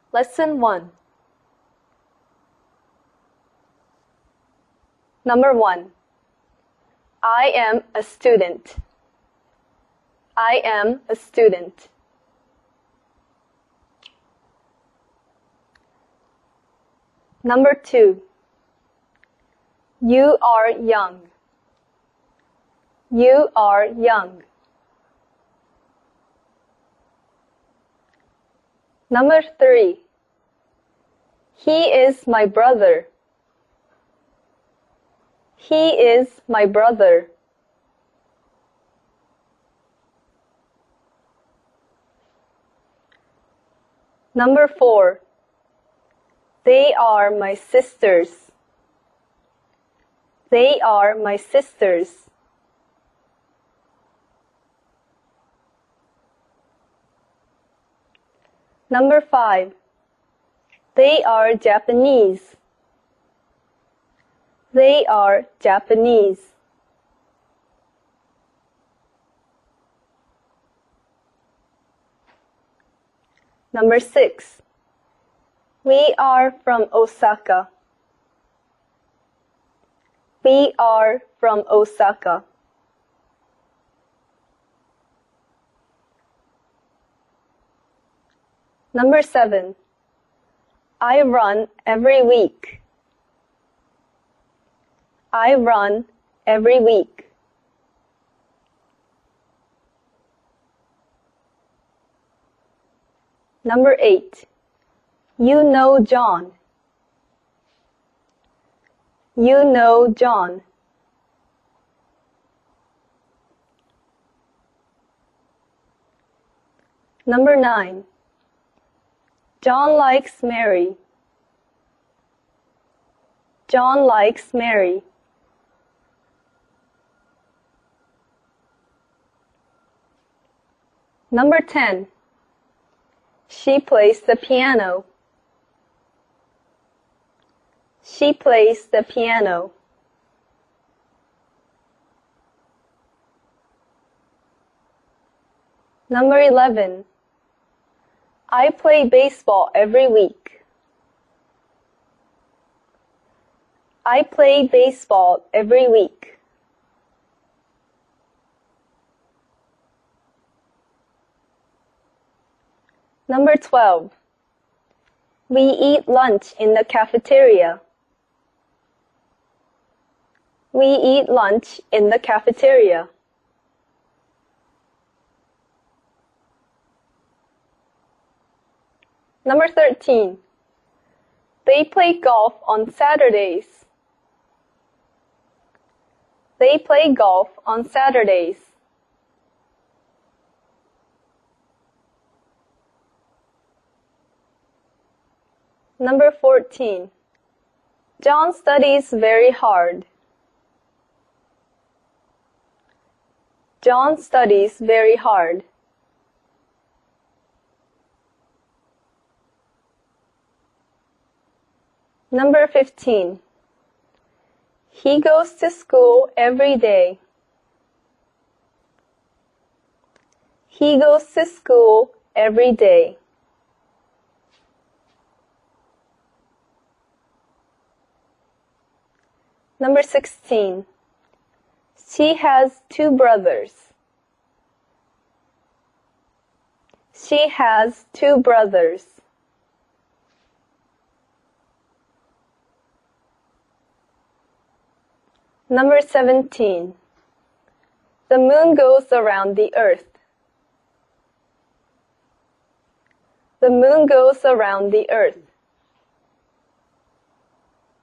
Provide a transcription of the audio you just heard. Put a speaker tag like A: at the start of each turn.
A: Lesson 1. Number 1. I am a student. I am a student. Number 2. You are young. You are young. Number 3. He is my brother. He is my brother. Number 4. They are my sisters. They are my sisters. Number 5. They are Japanese. They are Japanese. Number 6. We are from Osaka. We are from Osaka. Number 7. I run every week. I run every week. Number 8. You know John. You know John. Number 9. John likes Mary. John likes Mary. Number 10. She plays the piano. She plays the piano. Number 11. I play baseball every week. I play baseball every week. Number 12. We eat lunch in the cafeteria. We eat lunch in the cafeteria. Number 13. They play golf on Saturdays. They play golf on Saturdays. Number 14. John studies very hard. John studies very hard. Number 15. He goes to school every day. He goes to school every day. Number 16. She has 2 brothers. She has 2 brothers. Number 17. The moon goes around the earth. The moon goes around the earth.